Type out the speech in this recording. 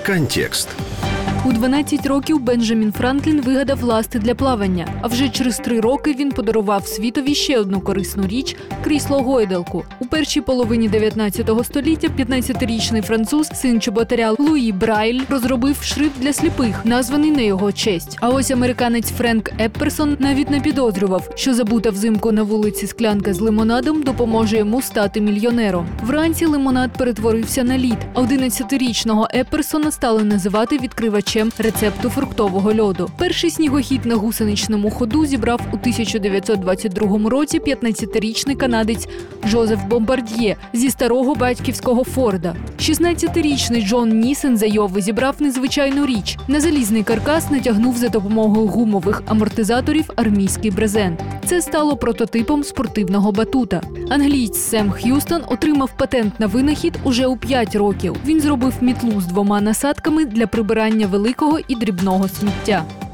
Контекст. У 12 років Бенджамін Франклін вигадав ласти для плавання, а вже через 3 роки він подарував світові ще одну корисну річ – крісло-гойдалку. У першій половині 19 століття 15-річний француз, син чоботаря Луї Брайль, розробив шрифт для сліпих, названий на його честь. А ось американець Френк Епперсон навіть не підозрював, що забута взимку на вулиці склянка з лимонадом допоможе йому стати мільйонером. Вранці лимонад перетворився на лід, а 11-річного Епперсона стали називати відкривачем рецепту фруктового льоду. Перший снігохід на гусеничному ходу зібрав у 1922 році 15-річний канадець Жозеф Бомбард'є зі старого батьківського Форда. 16-річний Джон Нісен з Айови зібрав незвичайну річ. На залізний каркас натягнув за допомогою гумових амортизаторів армійський брезент. Це стало прототипом спортивного батута. Англієць Сем Х'юстон отримав патент на винахід уже у 5 років. Він зробив мітлу з 2 насадками для прибирання великого і дрібного сміття.